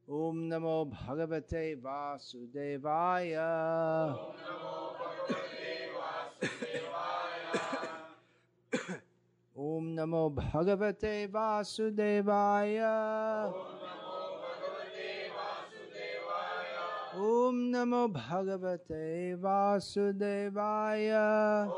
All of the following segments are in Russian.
Om Namo Bhagavate Vasudevaya. Om Namo Bhagavate Vasudevaya. Om Namo Bhagavate Vasudevaya.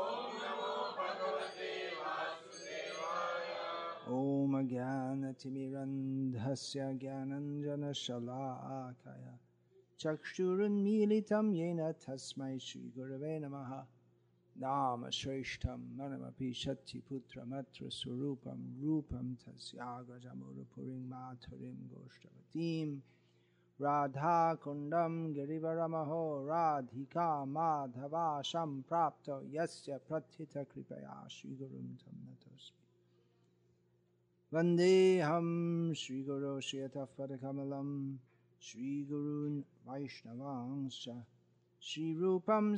Om Jnana Timirandhasya Jnananjana Shalakaya Chakshurunmilitam Yena Tasmai Shri Gurave Namaha Nama Shreshtam Manamapi Shakti Putra Matra Surupam Rupam Tasyagrajamurupurim Maturim Goshtavatim Radha Kundam Girivaramaho Radhika Madhava Sham Prapto Yasya Prathita Kripaya Shri Gurum Tam Natosmi Vandeham Shri Guru Shri Atafadakamalam Shri Gurun Vaishnavangsha Shri Rupam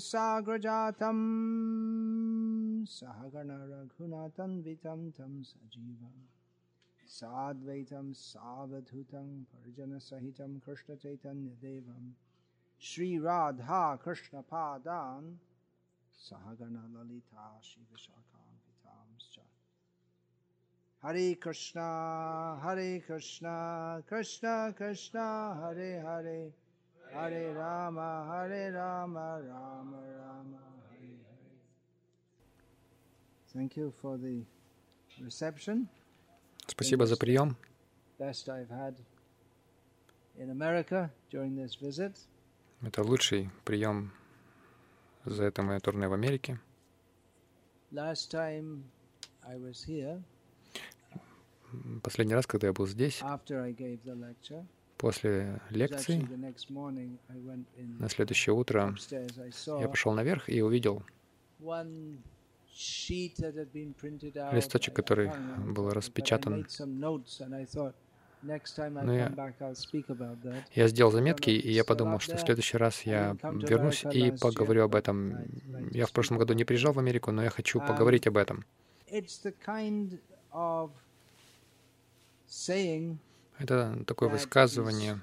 Sagrajatam Sahagana Raghunatan Vitam Tam Sajivam Sadvaitam Savadhutam Parjana Sahitam Krishna Chaitanya Devam Shri Radha Krishna Padan Sahagana Lalita Shri Vishakam Vitamscha Hare Krishna, Krishna Krishna, Hare Hare, Hare Rama, Rama Rama, Hare Hare. Thank you for the reception. Спасибо за прием. Best I've had in America during this visit. Это лучший прием за это мое турне в Америке. Last time I was here. Последний раз, когда я был здесь, после лекции, на следующее утро я пошел наверх и увидел листочек, который был распечатан. Но я сделал заметки, и я подумал, что в следующий раз я вернусь и поговорю об этом. Я в прошлом году не приезжал в Америку, но я хочу поговорить об этом. Это такое высказывание,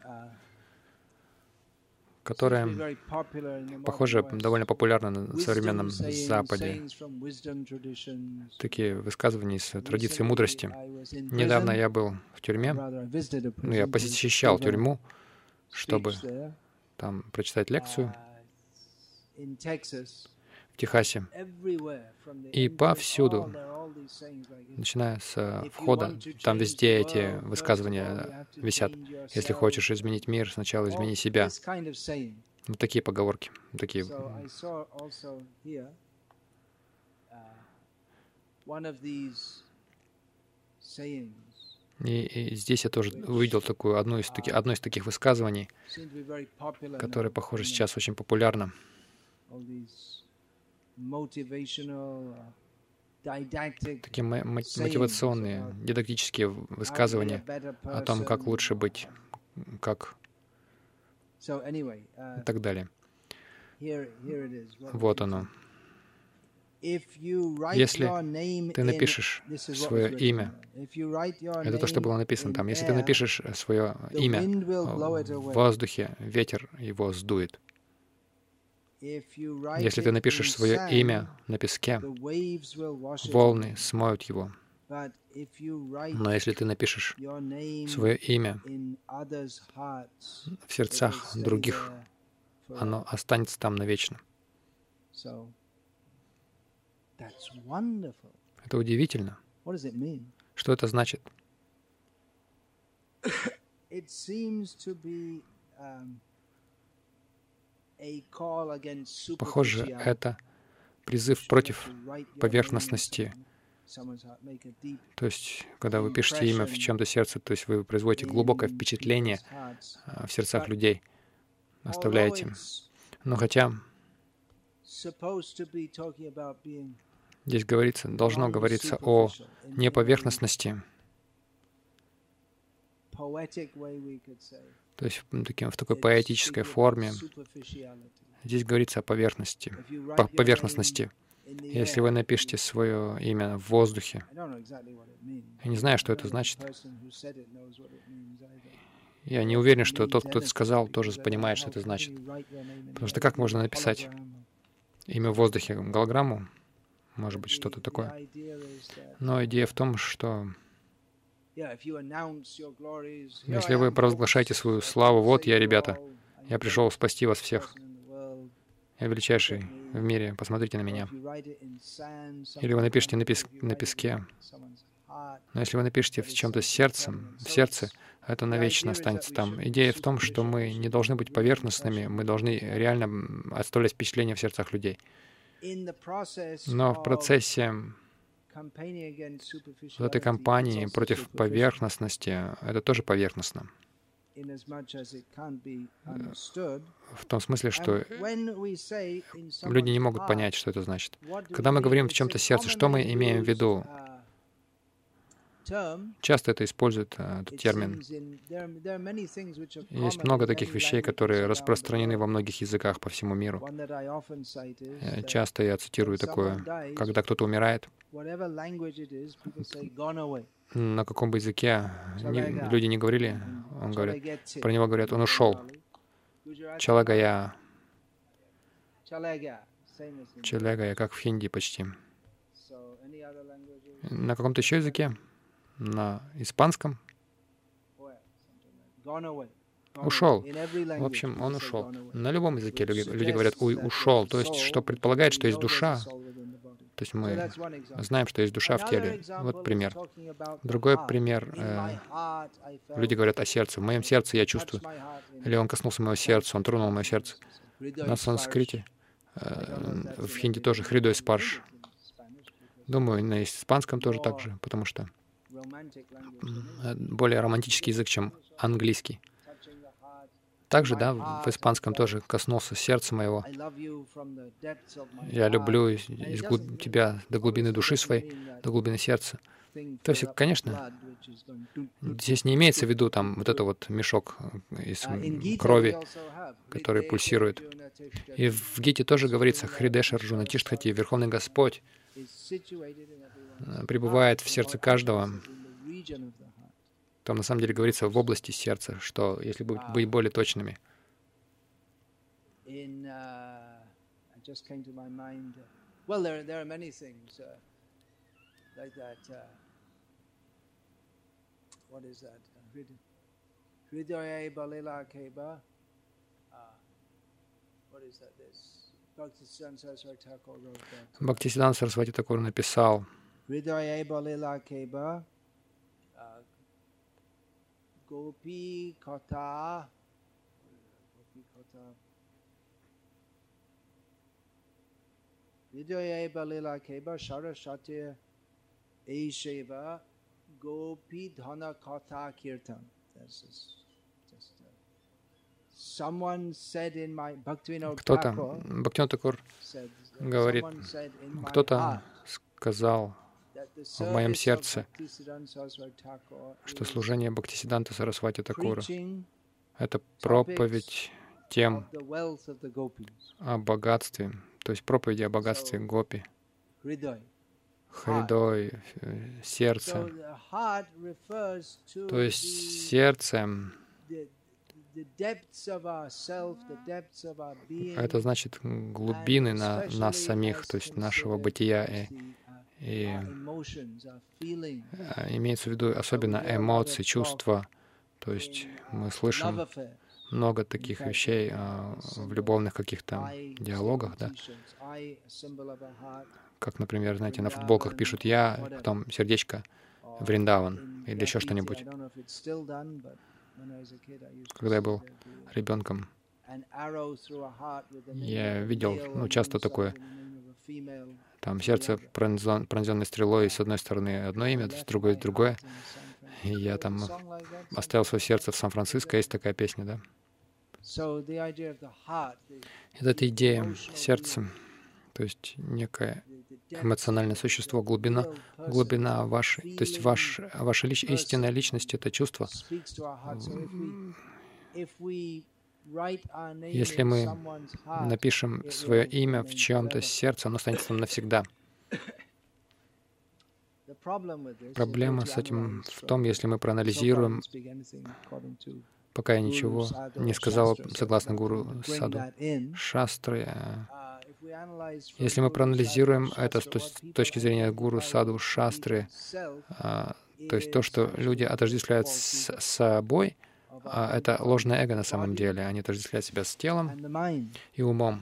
которое, похоже, довольно популярно на современном Западе. Такие высказывания из традиции мудрости. Недавно я был в тюрьме, я посещал тюрьму, чтобы там прочитать лекцию в Техасе. И повсюду, начиная с входа, там везде эти высказывания висят. Если хочешь изменить мир, сначала измени себя. Вот такие поговорки. Такие. И здесь я тоже увидел одно из таких высказываний, которое, похоже, сейчас очень популярно. Такие мотивационные, дидактические высказывания о том, как лучше быть, как и так далее. Вот оно. Если ты напишешь свое имя, это то, что было написано там. Если ты напишешь свое имя в воздухе, ветер его сдует. Если ты напишешь свое имя на песке, волны смоют его. Но если ты напишешь свое имя в сердцах других, оно останется там навечно. Это удивительно. Что это значит? Похоже, это призыв против поверхностности. То есть, когда вы пишете имя в чем-то сердце, то есть вы производите глубокое впечатление в сердцах людей, оставляете. Но хотя здесь должно говориться о неповерхностности, то есть в такой поэтической форме. Здесь говорится о поверхностности. Если вы напишете свое имя в воздухе, я не знаю, что это значит. Я не уверен, что тот, кто это сказал, тоже понимает, что это значит. Потому что как можно написать имя в воздухе, голограмму? Может быть, что-то такое. Но идея в том, что если вы провозглашаете свою славу, вот я, ребята, я пришел спасти вас всех. Я величайший в мире, посмотрите на меня. Или вы напишите на песке. Но если вы напишите в чем-то сердцем, в сердце, это навечно останется там. Идея в том, что мы не должны быть поверхностными, мы должны реально оставлять впечатление в сердцах людей. Но в процессе вот этой кампании против поверхностности, это тоже поверхностно. В том смысле, что люди не могут понять, что это значит. Когда мы говорим в чем-то сердце, что мы имеем в виду? Часто это используют, этот термин. Есть много таких вещей, которые распространены во многих языках по всему миру. Часто я цитирую такое, когда кто-то умирает, на каком бы языке люди не говорили, про него говорят, он ушел. Чалагая. Чалагая, как в хинди почти. На каком-то еще языке? На испанском? Ушел. В общем, он ушел. На любом языке люди говорят ушел. То есть, что предполагает, что есть душа. То есть мы знаем, что есть душа в теле. Вот пример. Другой пример. Люди говорят о сердце. В моем сердце я чувствую. Или он коснулся моего сердца, он тронул мое сердце. На санскрите, в хинди тоже хридой спарш. Думаю, на испанском тоже так же, потому что более романтический язык, чем английский. Также, да, в испанском тоже коснулся сердца моего. Я люблю тебя до глубины души своей, до глубины сердца. То есть, конечно, здесь не имеется в виду там вот это вот мешок из крови, который пульсирует. И в Гите тоже говорится, Хридеш Арджуна Тиштхати, Верховный Господь пребывает в сердце каждого. Там на самом деле говорится в области сердца, что если быть более точными. Бхактисиданта Сарасвати Такур написал, Гопи Ката, Vidya Balila Keba Saraswati Eisheva Gopi Dhana Kata Kirtan. Кто-то, Бхактивинода Такур говорит, кто-то сказал в моем сердце, что служение Бхактисиданта Сарасвати Такура — это проповедь тем о богатстве, то есть проповеди о богатстве гопи, хридой, сердце. То есть сердце — это значит глубины нас самих, то есть нашего бытия. И имеется в виду особенно эмоции, чувства. То есть мы слышим много таких вещей в любовных каких-то диалогах, да? Как, например, знаете, на футболках пишут «я», потом сердечко «Вриндаван» или еще что-нибудь. Когда я был ребенком, я видел, часто такое, там сердце пронзенное стрелой, с одной стороны одно имя, с другой другое. И я там оставил свое сердце в Сан-Франциско, есть такая песня, да? Это идея сердца, то есть некое эмоциональное существо, глубина вашей, то есть ваша истинная личность — это чувство. Если мы напишем свое имя в чьем-то сердце, оно останется там навсегда. Проблема с этим в том, если мы проанализируем, пока я ничего не сказал согласно Гуру Саду Шастры. Если мы проанализируем это с точки зрения Гуру Саду Шастры, то есть то, что люди отождествляют с собой, это ложное эго на самом деле. Они отождествляют себя с телом и умом.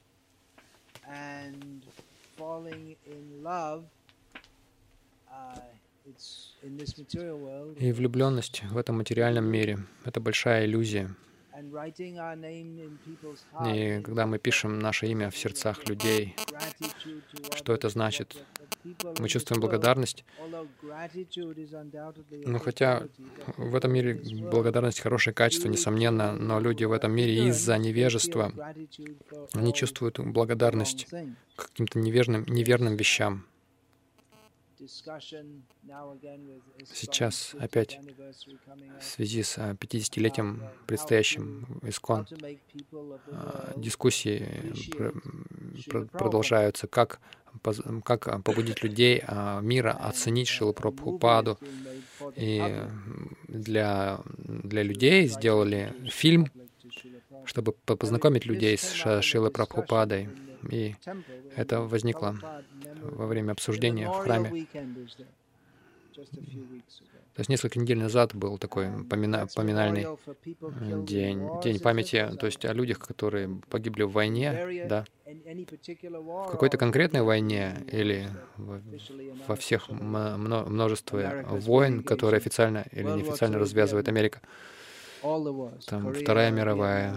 И влюбленность в этом материальном мире — это большая иллюзия. И когда мы пишем наше имя в сердцах людей, что это значит? Мы чувствуем благодарность. Но хотя в этом мире благодарность — хорошее качество, несомненно, но люди в этом мире из-за невежества, они чувствуют благодарность к каким-то неверным вещам. Сейчас опять в связи с 50-летием предстоящим ИСККОН дискуссии продолжаются, как побудить людей мира оценить Шрилу Прабхупаду. И для людей сделали фильм, чтобы познакомить людей с Шрилой Прабхупадой. И это возникло во время обсуждения в храме. То есть несколько недель назад был такой поминальный день памяти, то есть о людях, которые погибли в войне, да, в какой-то конкретной войне или во всех множестве войн, которые официально или неофициально развязывает Америка. Там Вторая мировая,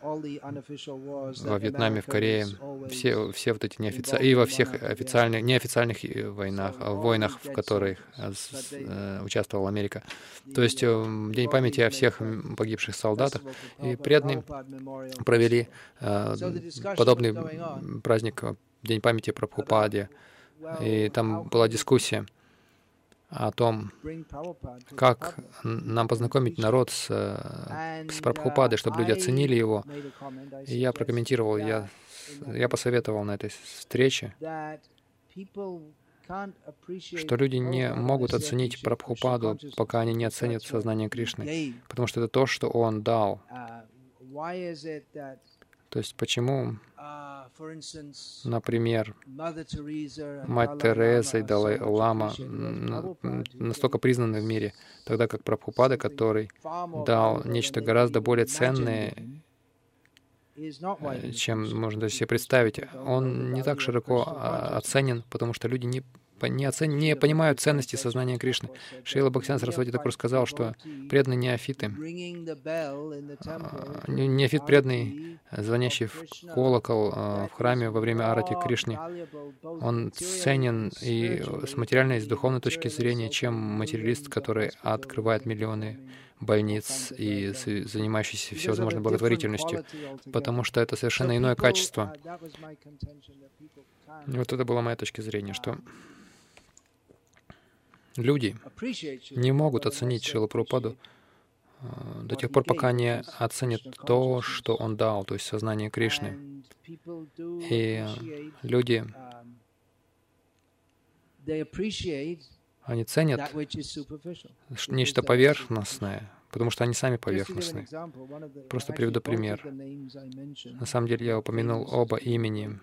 во Вьетнаме, в Корее, все вот эти неофициальные, и во всех неофициальных войнах, в которых участвовала Америка. То есть День памяти о всех погибших солдатах. И преданные провели подобный праздник, День памяти о Прабхупаде. И там была дискуссия о том, как нам познакомить народ с Прабхупадой, чтобы люди оценили его. И я прокомментировал, я посоветовал на этой встрече, что люди не могут оценить Прабхупаду, пока они не оценят сознание Кришны, потому что это то, что Он дал. То есть почему, например, Мать Тереза и Далай-Лама настолько признаны в мире, тогда как Прабхупада, который дал нечто гораздо более ценное, чем можно себе представить, он не так широко оценен, потому что люди не понимают ценности сознания Кришны. Шрила Бхактисиданта Сарасвати Тхакур сказал, что преданные неофиты, неофит преданный, звонящий в колокол в храме во время арати Кришне, он ценен и с материальной, и с духовной точки зрения, чем материалист, который открывает миллионы больниц и занимающийся всевозможной благотворительностью, потому что это совершенно иное качество. И вот это была моя точка зрения, что люди не могут оценить Шрилу Прабхупаду до тех пор, пока не оценят то, что Он дал, то есть сознание Кришны. И люди, они ценят нечто поверхностное, потому что они сами поверхностные. Просто приведу пример. На самом деле я упомянул оба имени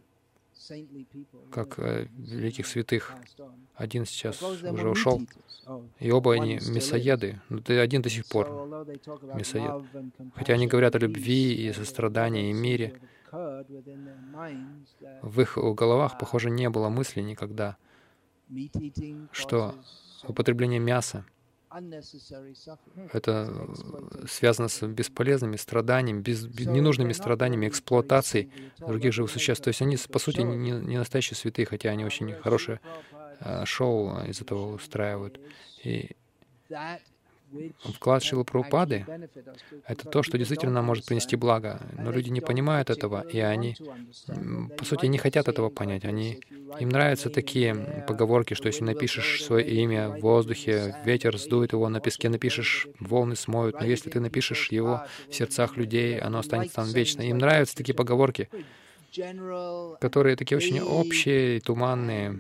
как великих святых. Один сейчас уже ушел, и оба они мясоеды. Но один до сих пор мясоед. Хотя они говорят о любви и сострадании и мире, в их головах, похоже, не было мысли никогда, что употребление мяса — это связано с бесполезными страданиями, ненужными страданиями, эксплуатацией других живых существ. То есть они, по сути, не настоящие святые, хотя они очень хорошее шоу из этого устраивают. И вклад Шрилы Прабхупады — это то, что действительно нам может принести благо. Но люди не понимают этого, и они, по сути, не хотят этого понять. Им нравятся такие поговорки, что если напишешь свое имя в воздухе, ветер сдует его, на песке напишешь, волны смоют, но если ты напишешь его в сердцах людей, оно останется там вечно. Им нравятся такие поговорки, которые такие очень общие и туманные,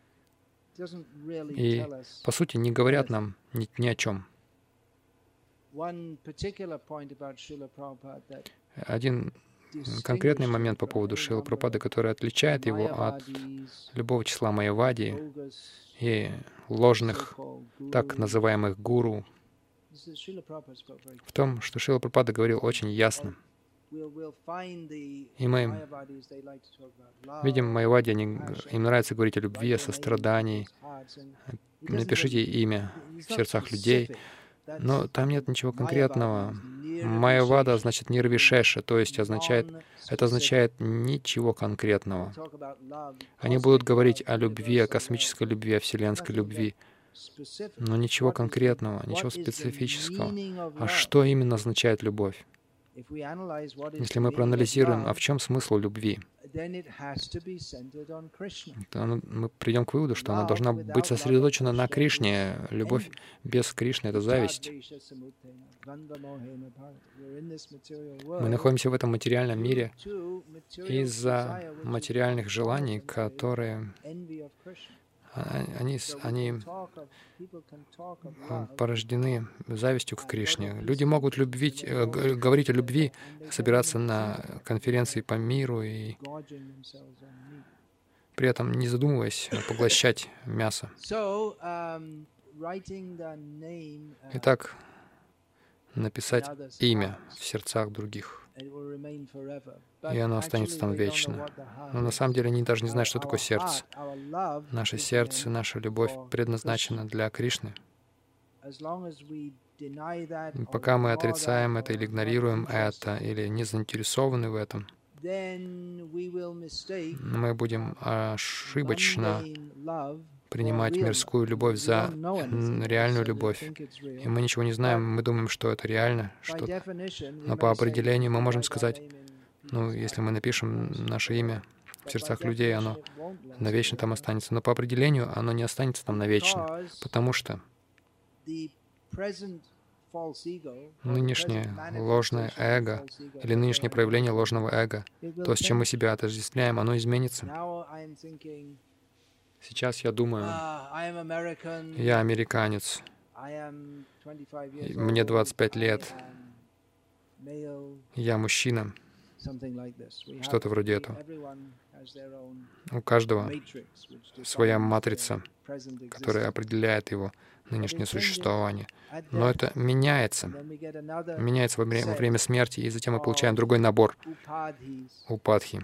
и, по сути, не говорят нам ни о чем. Один конкретный момент по поводу Шрилы Прабхупады, который отличает его от любого числа майявади и ложных, так называемых гуру, в том, что Шрила Прабхупада говорил очень ясно. И мы видим майявади, им нравится говорить о любви, о сострадании. Напишите имя в сердцах людей. Но там нет ничего конкретного. Майявада значит нирвишеша, то есть это означает ничего конкретного. Они будут говорить о любви, о космической любви, о вселенской любви, но ничего конкретного, ничего специфического. А что именно означает любовь? Если мы проанализируем, а в чем смысл любви, то мы придем к выводу, что она должна быть сосредоточена на Кришне. Любовь без Кришны — это зависть. Мы находимся в этом материальном мире из-за материальных желаний, которые они порождены завистью к Кришне. Люди могут говорить о любви, собираться на конференции по миру и при этом, не задумываясь, поглощать мясо. Итак, написать имя в сердцах других, и оно останется там вечно. Но на самом деле они даже не знают, что такое сердце. Наше сердце, наша любовь предназначена для Кришны. Пока мы отрицаем это или игнорируем это, или не заинтересованы в этом, мы будем ошибочно принимать мирскую любовь за реальную любовь. И мы ничего не знаем, мы думаем, что это реально что-то. Но по определению мы можем сказать, если мы напишем наше имя в сердцах людей, оно навечно там останется. Но по определению оно не останется там навечно, потому что нынешнее ложное эго или нынешнее проявление ложного эго, то, с чем мы себя отождествляем, оно изменится. Сейчас я думаю, я американец, мне 25 лет, я мужчина, что-то вроде этого. У каждого своя матрица, которая определяет его нынешнее существование. Но это меняется во время смерти, и затем мы получаем другой набор упадхи,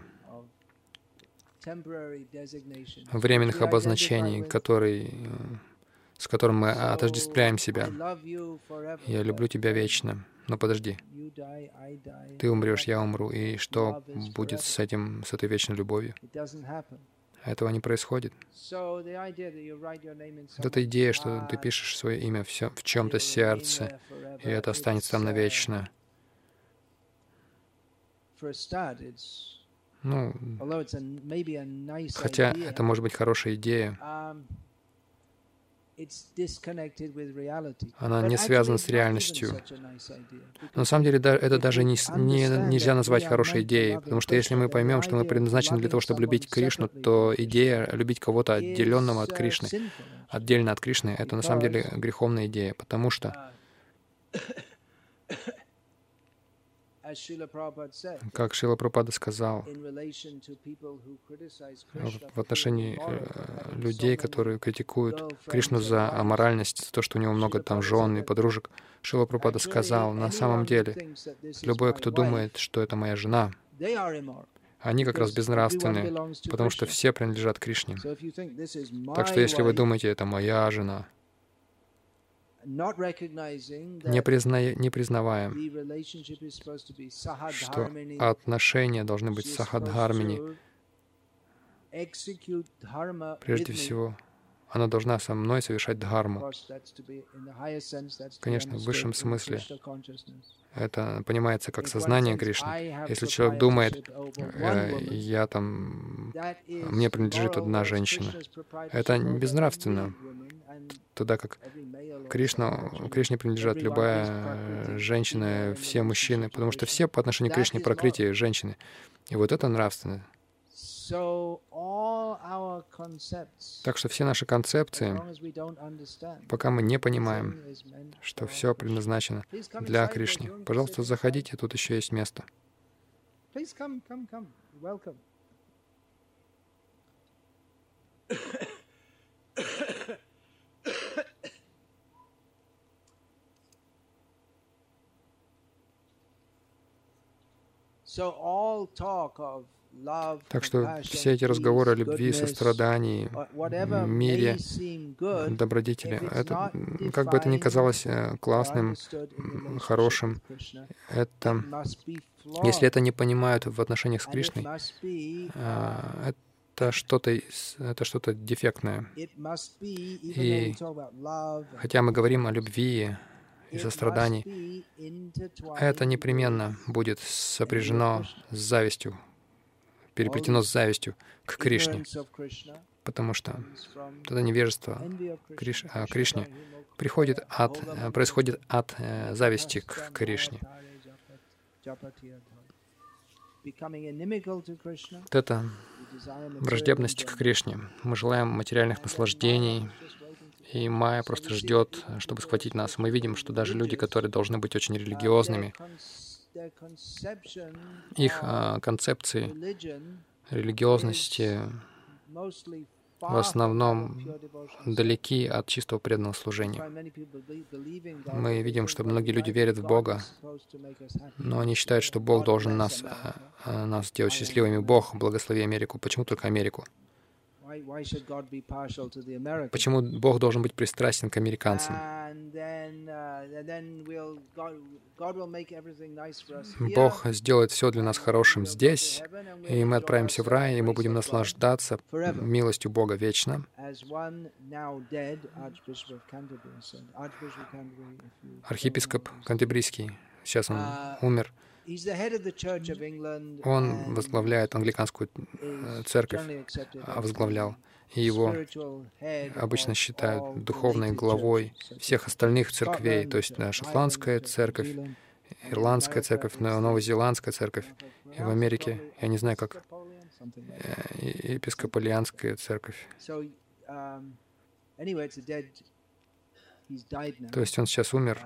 временных обозначений, с которым мы отождествляем себя. Я люблю тебя вечно. Но подожди, ты умрешь, я умру, и что будет с этой вечной любовью? Этого не происходит. Вот эта идея, что ты пишешь свое имя в чем-то сердце, и это останется там навечно. Хотя это может быть хорошая идея, она не связана с реальностью. Но на самом деле это даже нельзя назвать хорошей идеей, потому что если мы поймем, что мы предназначены для того, чтобы любить Кришну, то идея любить кого-то отделенного от Кришны, отдельно от Кришны, это на самом деле греховная идея, потому что, как Шрила Прабхупада сказал, в отношении людей, которые критикуют Кришну за аморальность, за то, что у него много там жен и подружек, Шрила Прабхупада сказал, на самом деле, любой, кто думает, что это моя жена, они как раз безнравственные, потому что все принадлежат Кришне. Так что если вы думаете, это моя жена, не признавая, что отношения должны быть сахадхармини. Прежде всего, она должна со мной совершать дхарму. Конечно, в высшем смысле это понимается как сознание Кришны. Если человек думает, мне принадлежит одна женщина, это безнравственно. Тогда как Кришне принадлежат любая женщина, все мужчины, потому что все по отношению к Кришне прокрытие женщины. И вот это нравственно. Так что все наши концепции, пока мы не понимаем, что все предназначено для Кришны. Пожалуйста, заходите, тут еще есть место. Так что все эти разговоры о любви, сострадании, мире, добродетели, это, как бы это ни казалось классным, хорошим, это, если это не понимают в отношениях с Кришной, это что-то дефектное. И хотя мы говорим о любви и сострадании, это непременно будет сопряжено с завистью, переплетено с завистью к Кришне, потому что это невежество о Кришне происходит от зависти к Кришне. Вот это враждебность к Кришне. Мы желаем материальных наслаждений, и Майя просто ждет, чтобы схватить нас. Мы видим, что даже люди, которые должны быть очень религиозными, их концепции религиозности в основном далеки от чистого преданного служения. Мы видим, что многие люди верят в Бога, но они считают, что Бог должен нас сделать счастливыми. Бог, благослови Америку. Почему только Америку? Почему Бог должен быть пристрастен к американцам? Бог сделает все для нас хорошим здесь, и мы отправимся в рай, и мы будем наслаждаться милостью Бога вечно. Архиепископ Кантербрийский, сейчас он умер, он возглавляет англиканскую церковь, возглавлял, и его обычно считают духовной главой всех остальных церквей, то есть шотландская церковь, ирландская церковь, новозеландская церковь, и в Америке, я не знаю, как, епископалианская церковь. То есть он сейчас умер.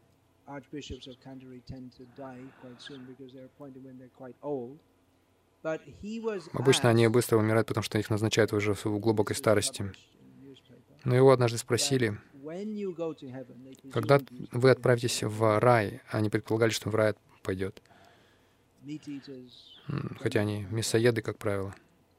Обычно они быстро умирают, потому что их назначают уже в глубокой старости. Но его однажды спросили, когда вы отправитесь в рай, они предполагали, что в рай пойдет. Хотя они мясоеды, как правило,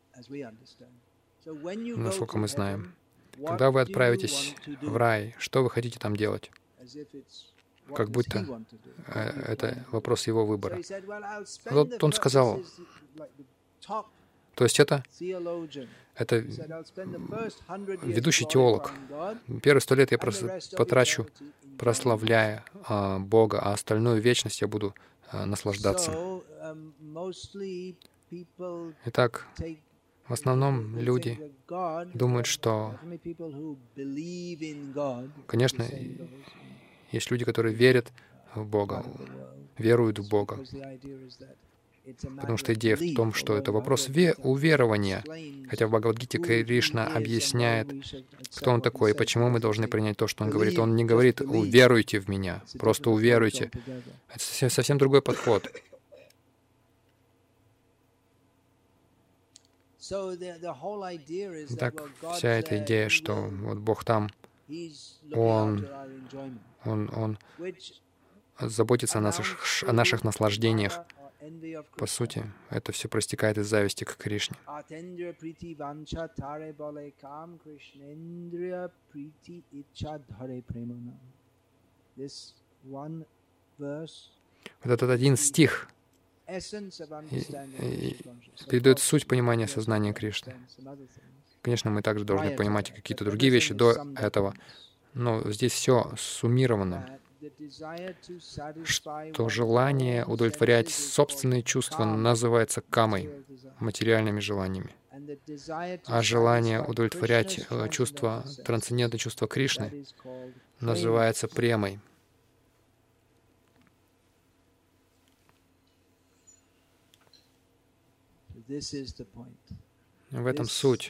насколько мы знаем. Когда вы отправитесь в рай, что вы хотите там делать? Как будто это вопрос его выбора. Вот он сказал, то есть это ведущий теолог. Первые 100 лет я просто потрачу, прославляя Бога, а остальную вечность я буду наслаждаться. Итак, в основном люди думают, что, конечно, есть люди, которые верят в Бога, веруют в Бога. Потому что идея в том, что это вопрос уверования. Хотя в Бхагавад-гите Кришна объясняет, кто он такой и почему мы должны принять то, что он говорит. Он не говорит «уверуйте в меня», просто «уверуйте». Это совсем другой подход. Так, вся эта идея, что вот Бог там, Он заботится о наших наслаждениях. По сути, это все проистекает из зависти к Кришне. Вот этот один стих передает суть понимания сознания Кришны. Конечно, мы также должны понимать какие-то другие вещи до этого, но здесь все суммировано, что желание удовлетворять собственные чувства называется камой, материальными желаниями, а желание удовлетворять чувства, трансцендентное чувство Кришны называется премой. В этом суть.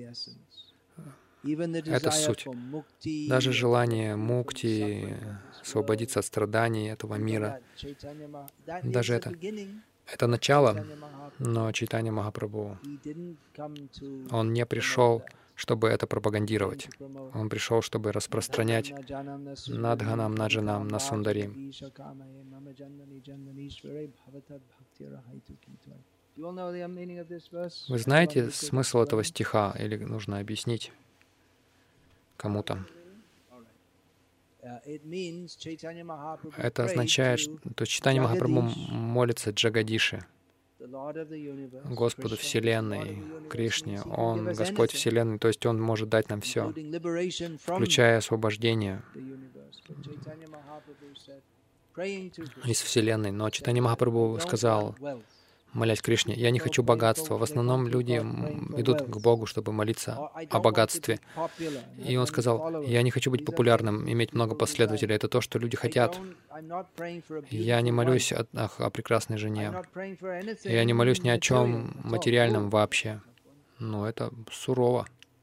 Это суть. Даже желание мукти, освободиться от страданий этого мира, даже это начало, но Чайтанья Махапрабху, он не пришел, чтобы это пропагандировать. Он пришел, чтобы распространять надханам, наджанам, насундарим. Вы знаете смысл этого стиха, или нужно объяснить кому-то? Это означает, что Чайтанья Махапрабху молится Джагадише, Господу Вселенной, Кришне. Он Господь Вселенной, то есть Он может дать нам все, включая освобождение из Вселенной. Но Чайтанья Махапрабху сказал, молясь Кришне, я не хочу богатства. В основном люди идут к Богу, чтобы молиться о богатстве. И он сказал, я не хочу быть популярным, иметь много последователей. Это то, что люди хотят. Я не молюсь о прекрасной жене. Я не молюсь ни о чем материальном вообще. Но это сурово.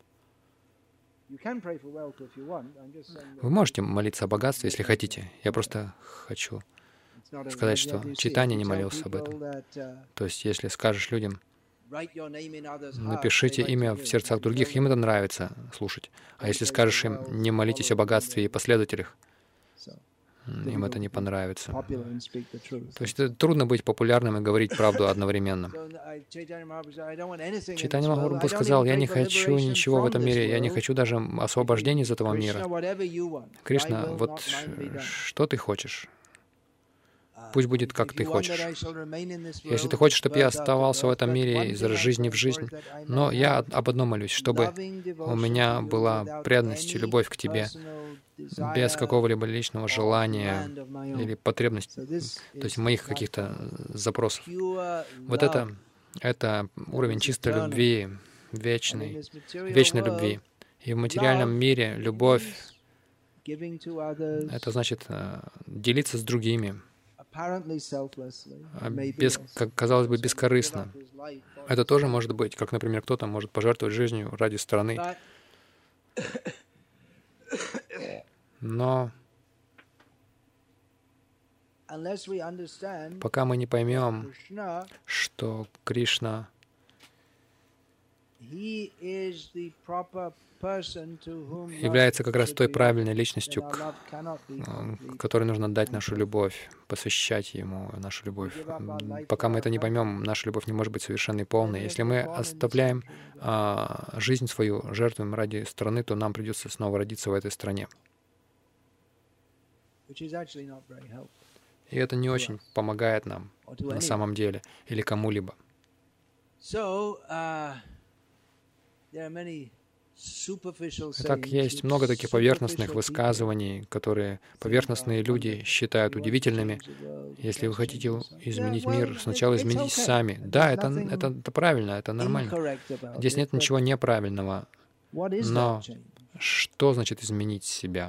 Вы можете молиться о богатстве, если хотите. Я просто хочу сказать, что Чайтанья не молился об этом. То есть, если скажешь людям, напишите имя в сердцах других, им это нравится слушать. А если скажешь им, не молитесь о богатстве и последователях, им это не понравится. То есть трудно быть популярным и говорить правду одновременно. Чайтанья Махапрабху сказал, я не хочу ничего в этом мире, я не хочу даже освобождения из этого мира. Кришна, вот что ты хочешь? Пусть будет, как ты хочешь. Если ты хочешь, чтобы я оставался в этом мире из жизни в жизнь, но я об одном молюсь, чтобы у меня была преданность и любовь к тебе, без какого-либо личного желания или потребности, то есть моих каких-то запросов. Вот это уровень чистой любви, вечной любви. И в материальном мире любовь — это значит делиться с другими, казалось бы, бескорыстно. Это тоже может быть, как, например, кто-то может пожертвовать жизнью ради страны. Но пока мы не поймем, что Кришна является как раз той правильной личностью, которой нужно дать нашу любовь, посвящать Ему нашу любовь. Пока мы это не поймем, наша любовь не может быть совершенной и полной. Если мы оставляем жизнь свою, жертвуем ради страны, то нам придется снова родиться в этой стране. И это не очень помогает нам на самом деле или кому-либо. Итак, есть много таких поверхностных высказываний, которые поверхностные люди считают удивительными. Если вы хотите изменить мир, сначала изменитесь сами. Да, это правильно, это нормально. Здесь нет ничего неправильного. Но что значит изменить себя?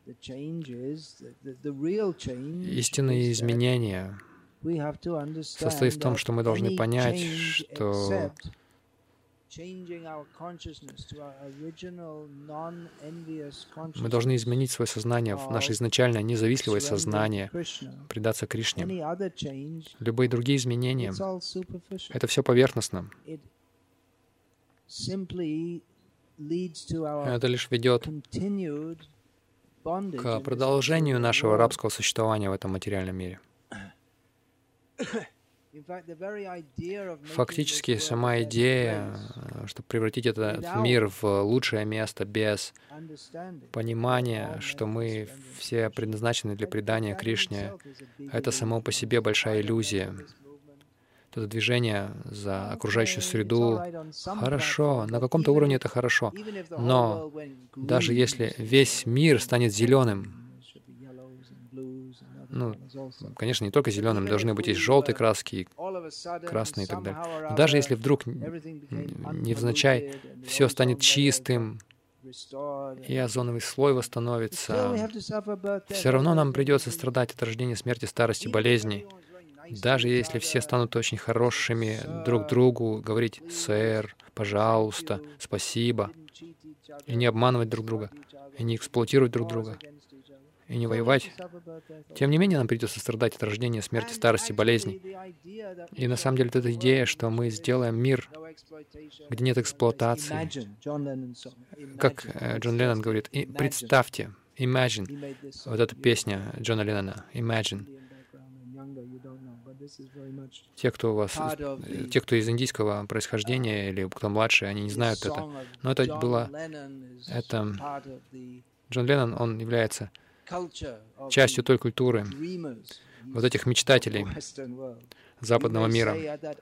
Истинное изменение состоит в том, что мы должны понять, что мы должны изменить свое сознание в наше изначальное независливое сознание, предаться Кришне. Любые другие изменения — это все поверхностно. Это лишь ведет к продолжению нашего рабского существования в этом материальном мире. Фактически, сама идея, чтобы превратить этот мир в лучшее место без понимания, что мы все предназначены для предания Кришне, это само по себе большая иллюзия. Это движение за окружающую среду хорошо, на каком-то уровне это хорошо, но даже если весь мир станет зеленым, конечно, не только зеленым, должны быть и желтые краски, и красные и так далее. Но даже если вдруг невзначай все станет чистым, и озоновый слой восстановится, все равно нам придется страдать от рождения, смерти, старости, болезней. Даже если все станут очень хорошими друг другу, говорить «сэр», «пожалуйста», «спасибо», и не обманывать друг друга, и не эксплуатировать друг друга, и не воевать, тем не менее нам придется страдать от рождения, смерти, старости, болезней. И на самом деле эта идея, что мы сделаем мир, где нет эксплуатации, как Джон Леннон говорит, и представьте, imagine, вот эта песня Джона Леннона, imagine. Те, кто из индийского происхождения или кто младше, они не знают это. Но это было... Джон Леннон, он является частью той культуры, вот этих мечтателей западного мира.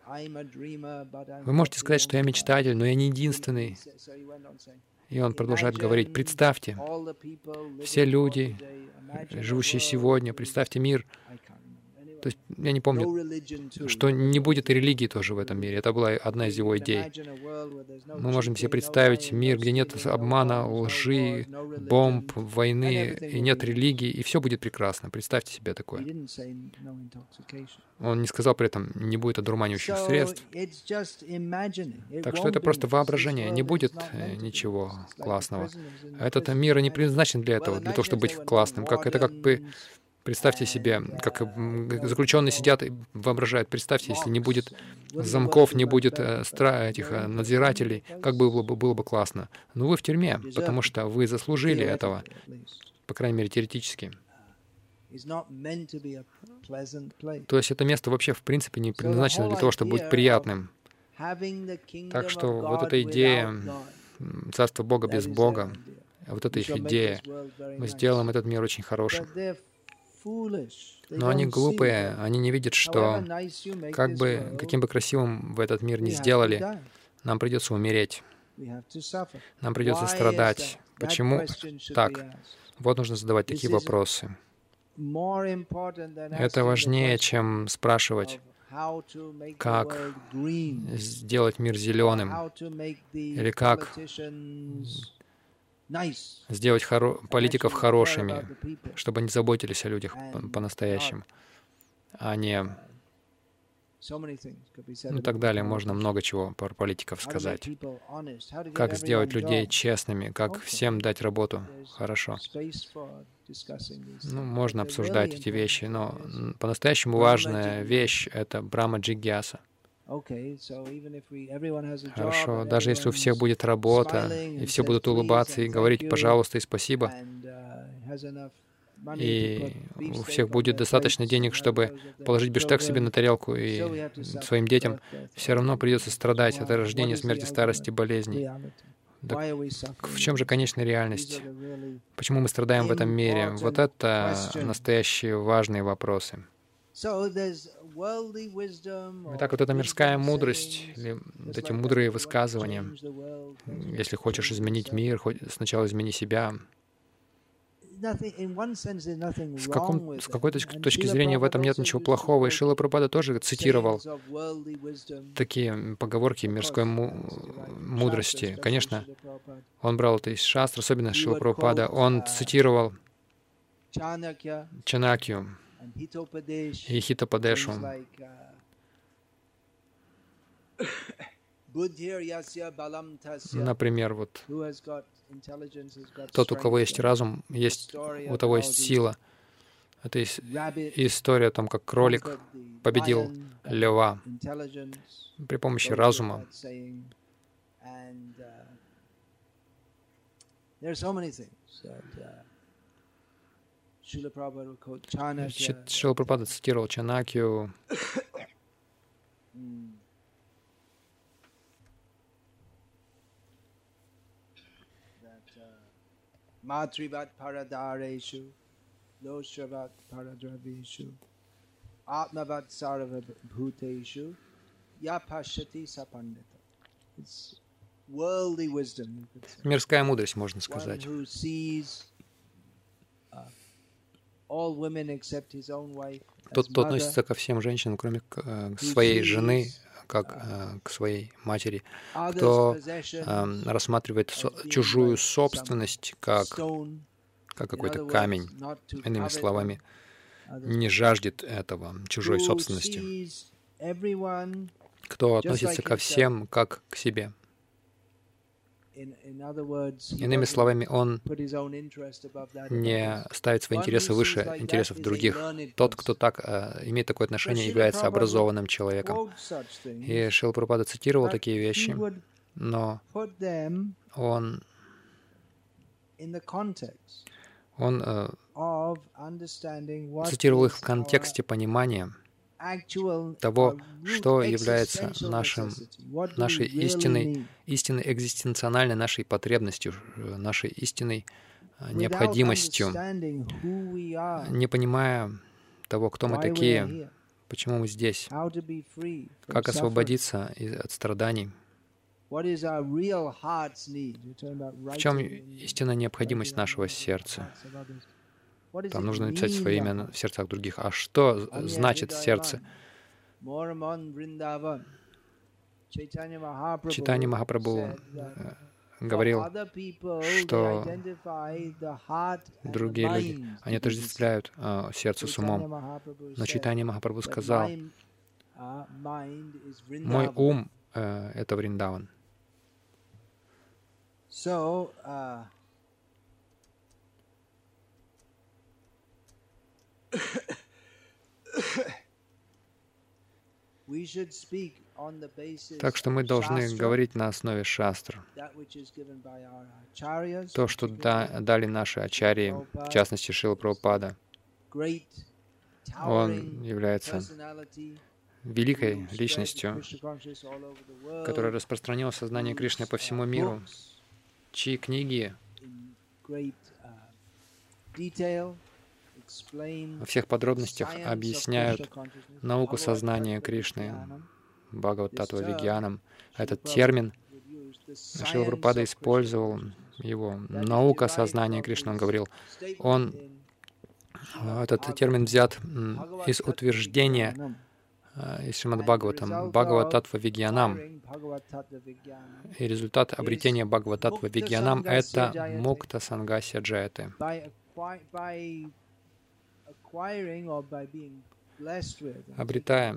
Вы можете сказать, что я мечтатель, но я не единственный. И он продолжает говорить, представьте, все люди, живущие сегодня, представьте мир. То есть, я не помню, что не будет и религии тоже в этом мире. Это была одна из его идей. Мы можем себе представить мир, где нет обмана, лжи, бомб, войны, и нет религии, и все будет прекрасно. Представьте себе такое. Он не сказал при этом, не будет одурманивающих средств. Так что это просто воображение. Не будет ничего классного. Этот мир не предназначен для этого, для того, чтобы быть классным. Это как бы... Представьте себе, как заключенные сидят и воображают. Представьте, если не будет замков, не будет этих надзирателей, как было бы классно. Но вы в тюрьме, потому что вы заслужили этого, по крайней мере, теоретически. То есть это место вообще, в принципе, не предназначено для того, чтобы быть приятным. Так что вот эта идея Царства Бога без Бога, вот эта их идея, мы сделаем этот мир очень хорошим. Но они глупые, они не видят, что каким бы красивым вы этот мир ни сделали, нам придется умереть, нам придется страдать. Почему так? Вот нужно задавать такие вопросы. Это важнее, чем спрашивать, как сделать мир зеленым, или как сделать политиков хорошими, чтобы они заботились о людях по-настоящему, а не... Ну и так далее. Можно много чего про политиков сказать. Как сделать людей честными, как всем дать работу хорошо. Ну, можно обсуждать эти вещи, но по-настоящему важная вещь — это Брахма Джигьяса. Хорошо, даже если у всех будет работа, и все будут улыбаться и говорить «пожалуйста» и «спасибо», и у всех будет достаточно денег, чтобы положить биштек себе на тарелку и своим детям, все равно придется страдать от рождения, смерти, старости, болезней. Так в чем же конечная реальность? Почему мы страдаем в этом мире? Вот это настоящие важные вопросы. Итак, вот эта мирская мудрость, или вот эти мудрые высказывания, если хочешь изменить мир, сначала измени себя. С какой-то точки зрения в этом нет ничего плохого. И Шрила Прабхупада тоже цитировал такие поговорки мирской мудрости. Конечно, он брал это из шастр, особенно Шрила Прабхупада. Он цитировал Чанакью и Хитопадешу. Например, вот тот, у кого есть разум, у того есть сила. Это история о том, как кролик победил льва при помощи разума. Шрила Прабхупада цитировал Чанакью. Matrivat paradareshu, doshavat paradraveshu, atmavat sarvabhuteshu, yapashati sapandita. It's worldly wisdom. Мирская мудрость, можно сказать. Тот, кто относится ко всем женщинам, кроме своей жены, как к своей матери, кто рассматривает чужую собственность как какой-то камень, иными словами, не жаждет этого, чужой собственности, кто относится ко всем как к себе. Иными словами, он не ставит свои интересы выше интересов других. Тот, кто так имеет такое отношение, является образованным человеком. И Шрила Прабхупада цитировал такие вещи, но он цитировал их в контексте понимания того, что является нашей истинной экзистенциональной нашей потребностью, нашей истинной необходимостью, не понимая того, кто мы такие, почему мы здесь, как освободиться от страданий, в чем истинная необходимость нашего сердца. Там нужно написать свое имя в сердцах других. А что значит сердце? Чайтанья Махапрабху говорил, что другие люди, они отождествляют сердце с умом. Но Чайтанья Махапрабху сказал, мой ум — это Вриндаван. Так что мы должны говорить на основе шастр. То, что дали наши ачарьи, в частности Шрила Прабхупада. Он является великой личностью, которая распространила сознание Кришны по всему миру, чьи книги во всех подробностях объясняют науку сознания Кришны, Бхагават-татва Вигьянам. Этот термин Шрила Прабхупада использовал его. Наука сознания Кришны, он говорил. Этот термин взят из утверждения из Шримад Бхагаватам, Бхагават-татва Вигьянам. И результат обретения Бхагават-татва Вигьянам — это мукта сангасья джаяте. Обретая,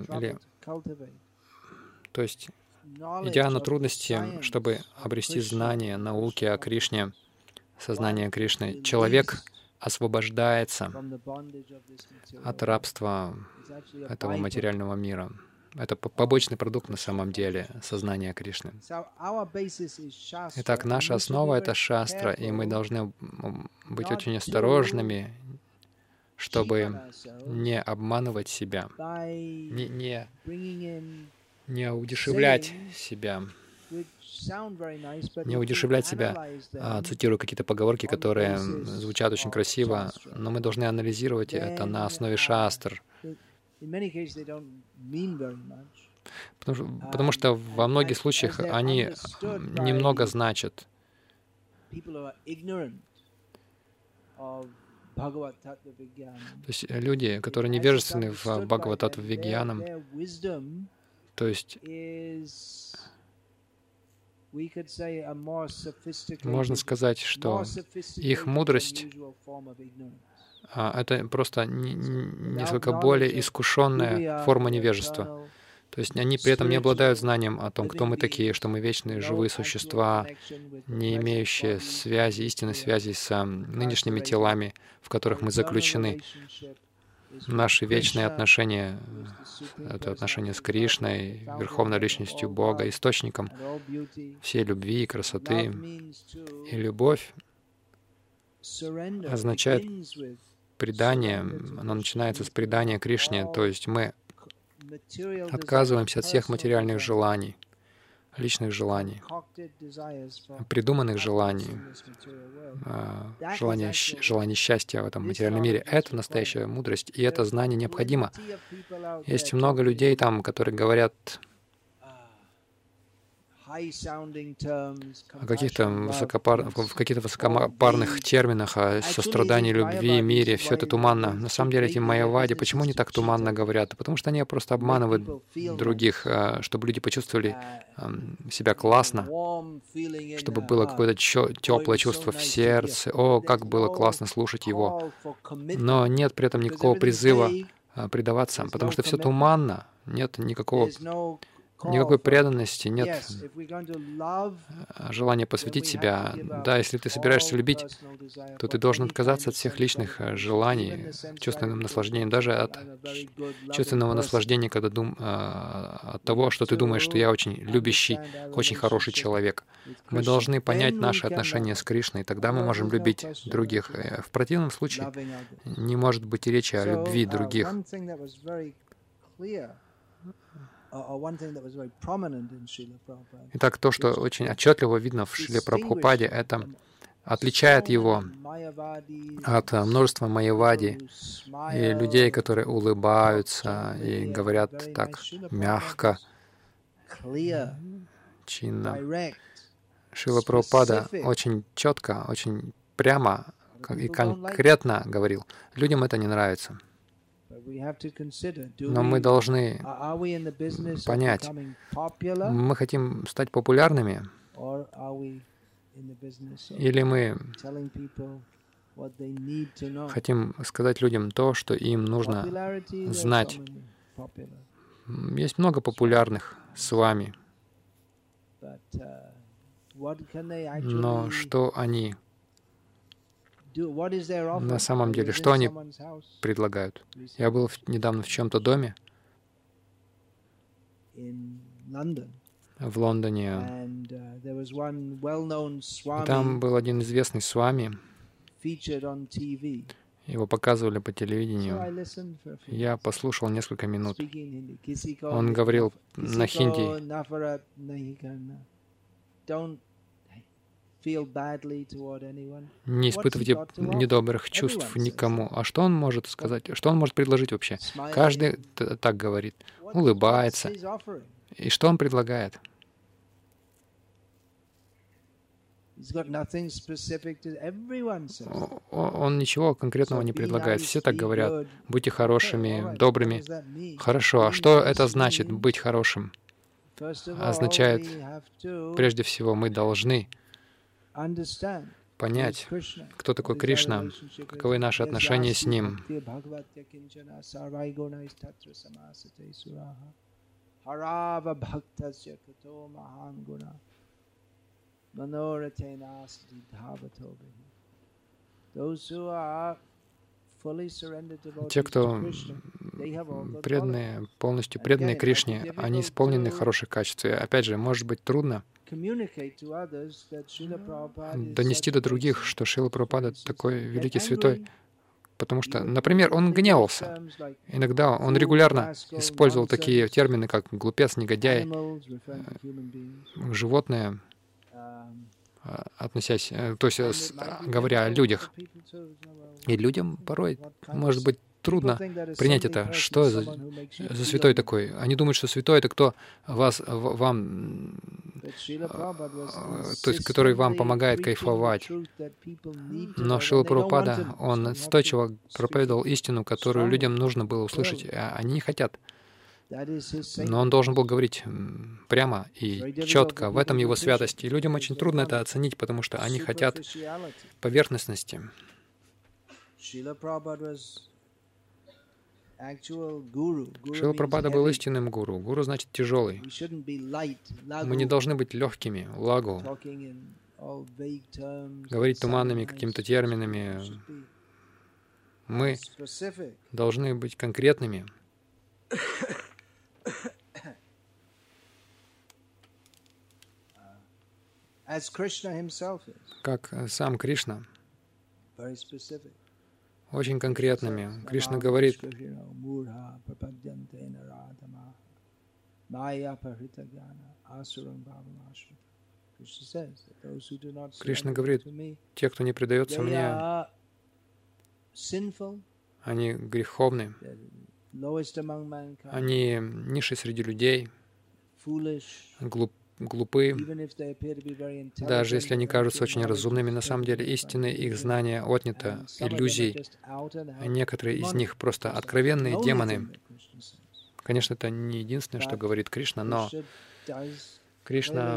то есть, идя на трудности, чтобы обрести знание, науки о Кришне, сознание Кришны, человек освобождается от рабства этого материального мира. Это побочный продукт на самом деле сознания Кришны. Итак, наша основа — это шастра, и мы должны быть очень осторожными, чтобы не обманывать себя, не удешевлять себя. Не удешевлять себя, цитирую какие-то поговорки, которые звучат очень красиво, но мы должны анализировать это на основе шастр. Потому что во многих случаях они немного значат. То есть люди, которые невежественны в Бхагават-татва Вигьянам, то есть можно сказать, что их мудрость — это просто несколько более искушенная форма невежества. То есть они при этом не обладают знанием о том, кто мы такие, что мы вечные живые существа, не имеющие связи, истинной связи с нынешними телами, в которых мы заключены. Наши вечные отношения — это отношения с Кришной, Верховной Личностью Бога, Источником всей любви и красоты. И любовь означает предание, она начинается с предания Кришне, то есть мы отказываемся от всех материальных желаний, личных желаний, придуманных желаний, желаний счастья в этом материальном мире. Это настоящая мудрость, и это знание необходимо. Есть много людей там, которые говорят о каких-то высокопарных терминах, о сострадании, любви, мире. Все это туманно. На самом деле эти майявади, почему они так туманно говорят? Потому что они просто обманывают других, чтобы люди почувствовали себя классно, чтобы было какое-то теплое чувство в сердце. О, как было классно слушать его. Но нет при этом никакого призыва предаваться, потому что все туманно, нет никакой преданности, нет желания посвятить себя. Да, если ты собираешься любить, то ты должен отказаться от всех личных желаний, чувственным наслаждением, даже от чувственного наслаждения, от того, что ты думаешь, что я очень любящий, очень хороший человек. Мы должны понять наши отношения с Кришной, и тогда мы можем любить других. В противном случае не может быть и речи о любви других. Итак, то, что очень отчетливо видно в Шриле Прабхупаде, это отличает его от множества майявади и людей, которые улыбаются и говорят так мягко, чинно. Шрила Прабхупада очень четко, очень прямо и конкретно говорил, людям это не нравится. Но мы должны понять, мы хотим стать популярными, или мы хотим сказать людям то, что им нужно знать. Есть много популярных с вами, но что они на самом деле, что они предлагают? Я был недавно в чьем-то доме в Лондоне. И там был один известный свами. Его показывали по телевидению. Я послушал несколько минут. Он говорил на хинди. Не испытывайте недобрых чувств никому. А что он может сказать? Что он может предложить вообще? Каждый так говорит, улыбается. И что он предлагает? Он ничего конкретного не предлагает. Все так говорят. Будьте хорошими, добрыми. Хорошо. А что это значит, быть хорошим? Означает, прежде всего, мы должны понять, кто такой Кришна, каковы наши отношения с Ним. Те, кто преданные, полностью преданные Кришне, они исполнены хороших качеств. И опять же, может быть трудно донести до других, что Шрила Прабхупада такой великий святой, потому что, например, он гневался. Иногда он регулярно использовал такие термины, как глупец, негодяй, животное, относясь, то есть говоря о людях. И людям порой, может быть, трудно принять это. Что за святой такой? Они думают, что святой — это кто вам, то есть который вам помогает кайфовать. Но Шрила Прабхупада, он настойчиво проповедовал истину, которую людям нужно было услышать, а они не хотят. Но он должен был говорить прямо и четко. В этом его святость. И людям очень трудно это оценить, потому что они хотят поверхностности. Шрила Прабхупада был истинным гуру. Гуру значит тяжелый. Мы не должны быть легкими, лагу, говорить туманными какими-то терминами. Мы должны быть конкретными. Как сам Кришна, очень конкретными. Кришна говорит, Кришна говорит, те, кто не предается мне, они греховны, они низшие среди людей, глупы, даже если они кажутся очень разумными, на самом деле истинное их знание отнято иллюзией. Некоторые из них просто откровенные демоны. Конечно, это не единственное, что говорит Кришна, но Кришна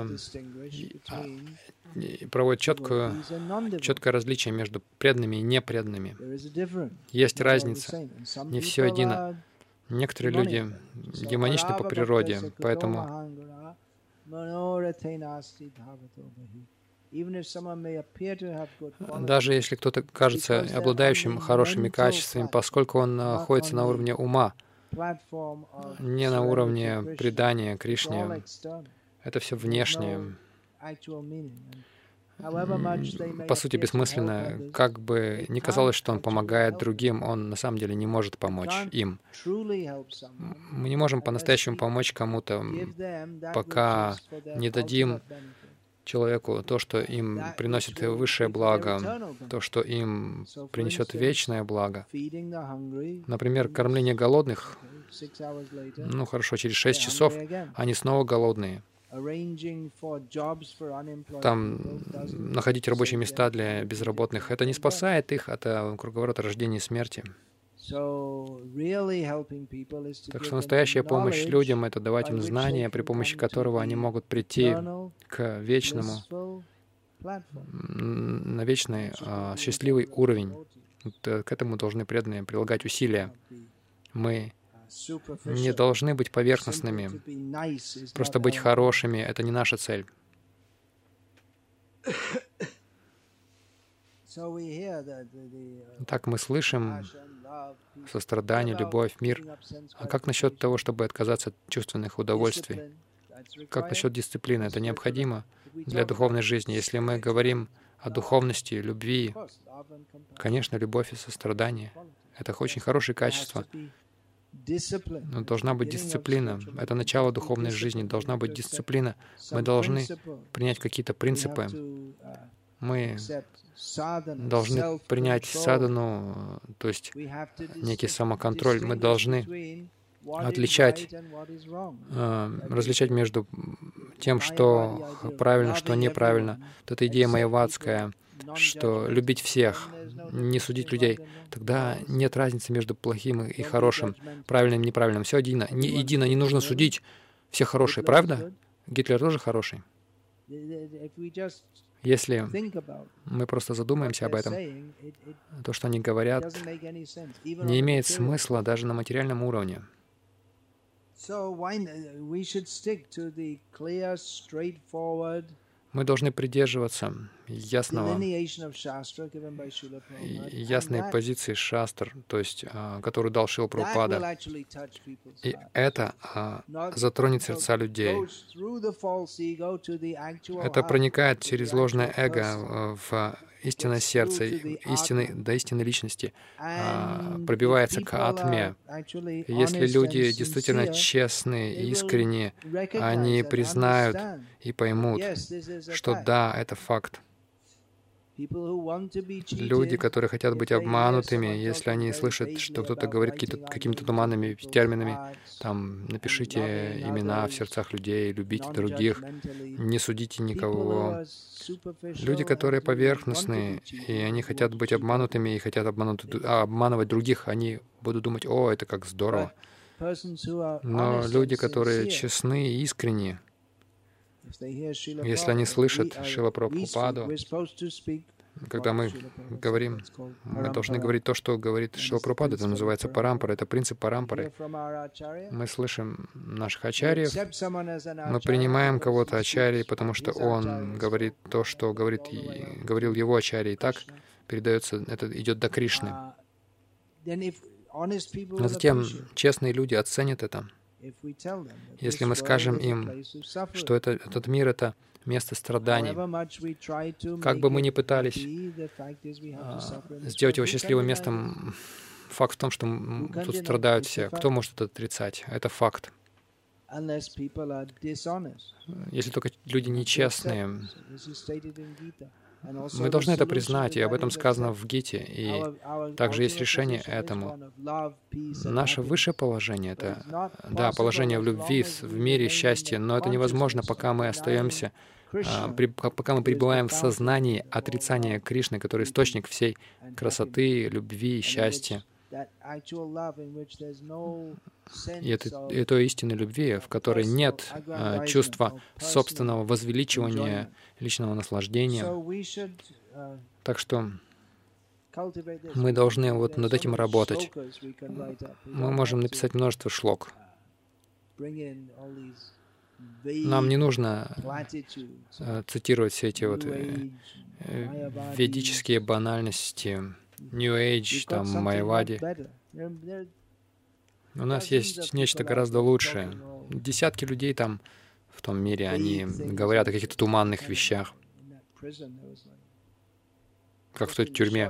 проводит четкое различие между преданными и непреданными. Есть разница. Не все едино. Некоторые люди демоничны по природе, поэтому даже если кто-то кажется обладающим хорошими качествами, поскольку он находится на уровне ума, не на уровне предания Кришне, это все внешнее, по сути, бессмысленно. Как бы ни казалось, что он помогает другим, он на самом деле не может помочь им. Мы не можем по-настоящему помочь кому-то, пока не дадим человеку то, что им приносит высшее благо, то, что им принесет вечное благо. Например, кормление голодных, ну хорошо, через 6 часов они снова голодные. Там находить рабочие места для безработных, это не спасает их от круговорота рождения и смерти. Так что настоящая помощь людям — это давать им знания, при помощи которого они могут прийти к вечному, на вечный счастливый уровень. К этому должны преданные прилагать усилия. Мы не должны быть поверхностными. Просто быть хорошими — это не наша цель. Так мы слышим сострадание, любовь, мир. А как насчет того, чтобы отказаться от чувственных удовольствий? Как насчет дисциплины? Это необходимо для духовной жизни. Если мы говорим о духовности, любви, конечно, любовь и сострадание — это очень хорошие качества. Но должна быть дисциплина. Это начало духовной жизни. Должна быть дисциплина. Мы должны принять какие-то принципы. Мы должны принять садану, то есть некий самоконтроль. Мы должны различать между тем, что правильно, что неправильно. Вот эта идея майявадская, что любить всех, не судить людей, тогда нет разницы между плохим и хорошим, правильным и неправильным. Все едино. Не нужно судить, все хорошие, правда? Гитлер тоже хороший. Если мы просто задумаемся об этом, то, что они говорят, не имеет смысла даже на материальном уровне. Мы должны придерживаться ясной позиции шастр, то есть, которую дал Шрила Прабхупада. И это затронет сердца людей. Это проникает через ложное эго в истинное сердце, до истинной личности, пробивается к атме. Если люди действительно честные и искренние, они признают и поймут, что да, это факт. Люди, которые хотят быть обманутыми, если они слышат, что кто-то говорит какими-то туманными терминами, там, напишите имена в сердцах людей, любите других, не судите никого. Люди, которые поверхностные, и они хотят быть обманутыми и хотят обманывать других, они будут думать: «О, это как здорово». Но люди, которые честны и искренние, если они слышат Шрила Прабхупаду, когда мы говорим, мы должны говорить то, что говорит Шрила Прабхупада. Это называется парампара, это принцип парампары. Мы слышим наших ачарьев, мы принимаем кого-то ачарьей, потому что он говорит то, что говорил его ачарья, и так передается, это идет до Кришны. Но затем честные люди оценят это. Если мы скажем им, что этот мир — это место страданий, как бы мы ни пытались сделать его счастливым местом, факт в том, что тут страдают все. Кто может это отрицать? Это факт. Если только люди нечестные. Мы должны это признать, и об этом сказано в Гите, и также есть решение этому. Наше высшее положение — это, да, положение в любви, в мире, счастье, но это невозможно, пока мы остаемся, пока мы пребываем в сознании отрицания Кришны, который источник всей красоты, любви и счастья. И это истинной любви, в которой нет чувства собственного возвеличивания, личного наслаждения. Так что мы должны вот над этим работать. Мы можем написать множество шлок. Нам не нужно цитировать все эти вот ведические банальности, New Age, там, Майявади. У нас есть нечто гораздо лучшее. Десятки людей там, в том мире, они говорят о каких-то туманных вещах, как в той тюрьме.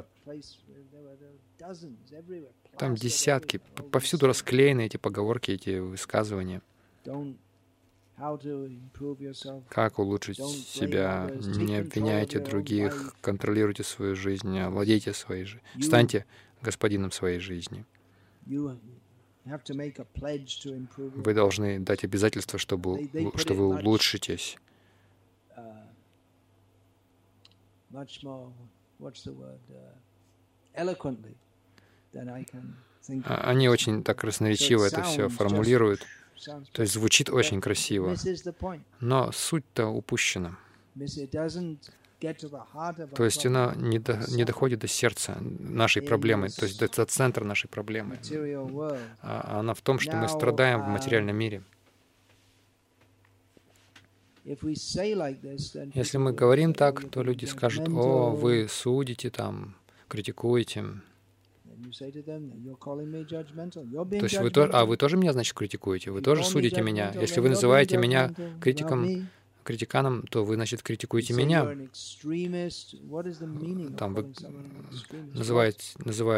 Там десятки, повсюду расклеены эти поговорки, эти высказывания. Как улучшить себя? Не обвиняйте других, контролируйте свою жизнь, владейте своей жизнью. Станьте господином своей жизни. Вы должны дать обязательство, что вы улучшитесь. Они очень так красноречиво это все формулируют. То есть звучит очень красиво, но суть-то упущена. То есть она не доходит до сердца нашей проблемы, то есть до центра нашей проблемы. А она в том, что мы страдаем в материальном мире. Если мы говорим так, то люди скажут: «О, вы судите там, критикуете». То есть вы тоже меня, значит, критикуете, вы тоже судите меня. Если вы называете меня критиканом, то вы, значит, критикуете меня. Там вы называют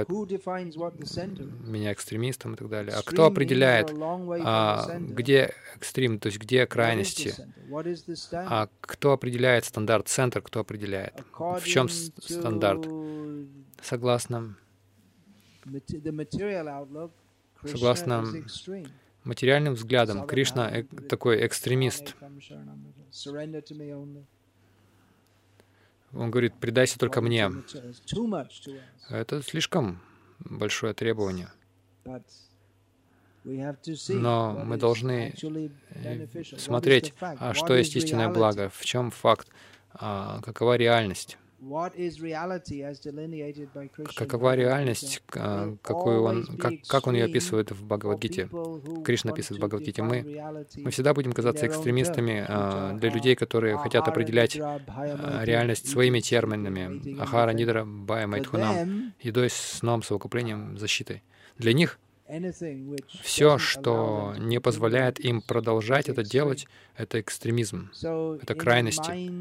меня экстремистом и так далее. А кто определяет, где экстрем, то есть где крайности? А кто определяет стандарт? Центр кто определяет? В чем стандарт? Согласно материальным взглядам, Кришна такой экстремист. Он говорит: «Предайся только мне». Это слишком большое требование. Но мы должны смотреть, что есть истинное благо, в чем факт, какова реальность. Какова реальность, как он ее описывает в Бхагавад-гите? Кришна описывает в Бхагавад-гите. Мы всегда будем казаться экстремистами для людей, которые хотят определять реальность своими терминами. Ахара, нидра, бая, майтхунам. Едой, сном, совокуплением, защитой. Для них все, что не позволяет им продолжать это делать, это экстремизм, это крайности.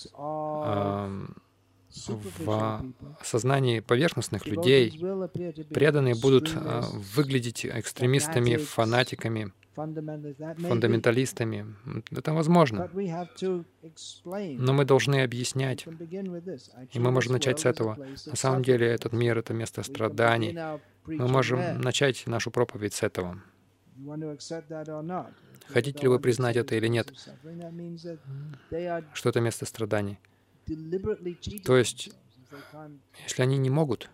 В сознании поверхностных людей преданные будут выглядеть экстремистами, фанатиками, фундаменталистами. Это возможно. Но мы должны объяснять. И мы можем начать с этого. На самом деле этот мир — это место страданий. Мы можем начать нашу проповедь с этого. Хотите ли вы признать это или нет? Что это место страданий? То есть, если они не могут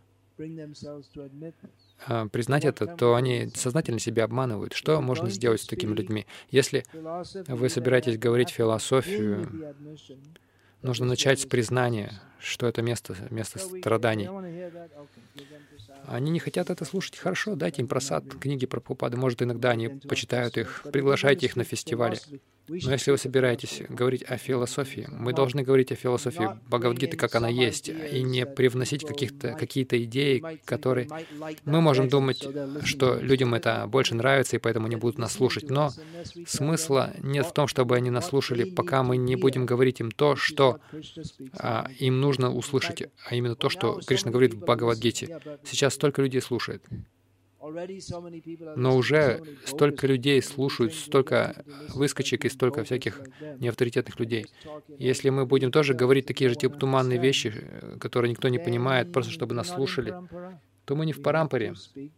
признать это, то они сознательно себя обманывают. Что можно сделать с такими людьми? Если вы собираетесь говорить философию, нужно начать с признания, что это место страданий. Они не хотят это слушать. Хорошо, дайте им просад, книги про Прабхупады. Может, иногда они почитают их, приглашайте их на фестивали. Но если вы собираетесь говорить о философии, мы должны говорить о философии Бхагавад-гиты, как она есть, и не привносить какие-то идеи, которые... Мы можем думать, что людям это больше нравится, и поэтому они будут нас слушать. Но смысла нет в том, чтобы они нас слушали, пока мы не будем говорить им то, что им нужно услышать, а именно то, что Кришна говорит в Бхагавад-гите. Сейчас столько людей слушает. Но уже столько людей слушают, столько выскочек и столько всяких неавторитетных людей. Если мы будем тоже говорить такие же типа туманные вещи, которые никто не понимает, просто чтобы нас слушали, то мы не в парампаре.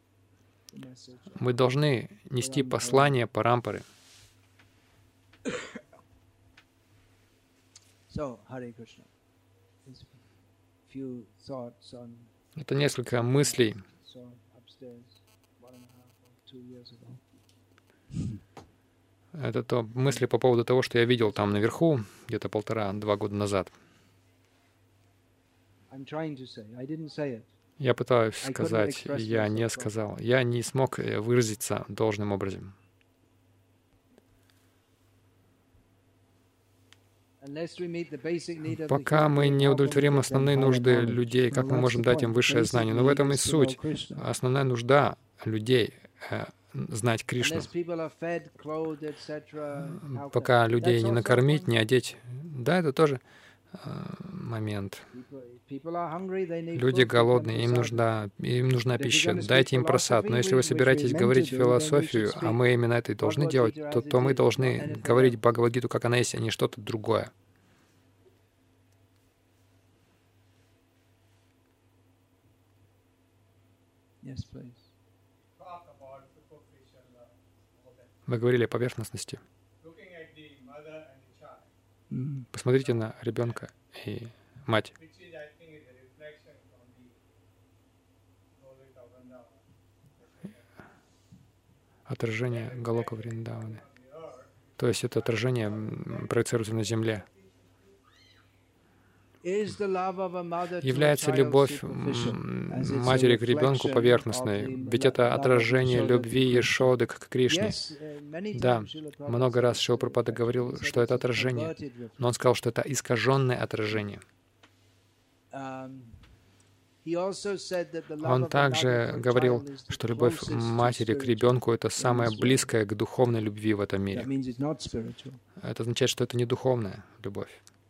Мы должны нести послание парампары. Это несколько мыслей. Это то мысли по поводу того, что я видел там наверху где-то 1,5-2 года назад. Я пытаюсь сказать, я не сказал. Я не смог выразиться должным образом. Пока мы не удовлетворим основные нужды людей, как мы можем дать им высшее знание? Но в этом и суть. Основная нужда людей — знать Кришну. Пока людей не накормить, не одеть. Да, это тоже момент. Люди голодные, им нужна пища. Дайте им просад. Но если вы собираетесь говорить философию, а мы именно это и должны делать, то мы должны говорить Бхагавад-гиту, как она есть, а не что-то другое. Вы говорили о поверхностности. Посмотрите на ребенка и мать. Отражение Галока Вриндаваны. То есть это отражение проецируется на земле. Является любовь матери к ребенку поверхностной? Ведь это отражение любви Ешоды к Кришне. Да, много раз Шрила Прабхупада говорил, что это отражение, но он сказал, что это искаженное отражение. Он также говорил, что любовь матери к ребенку — это самое близкое к духовной любви в этом мире. Это означает, что это не духовная любовь.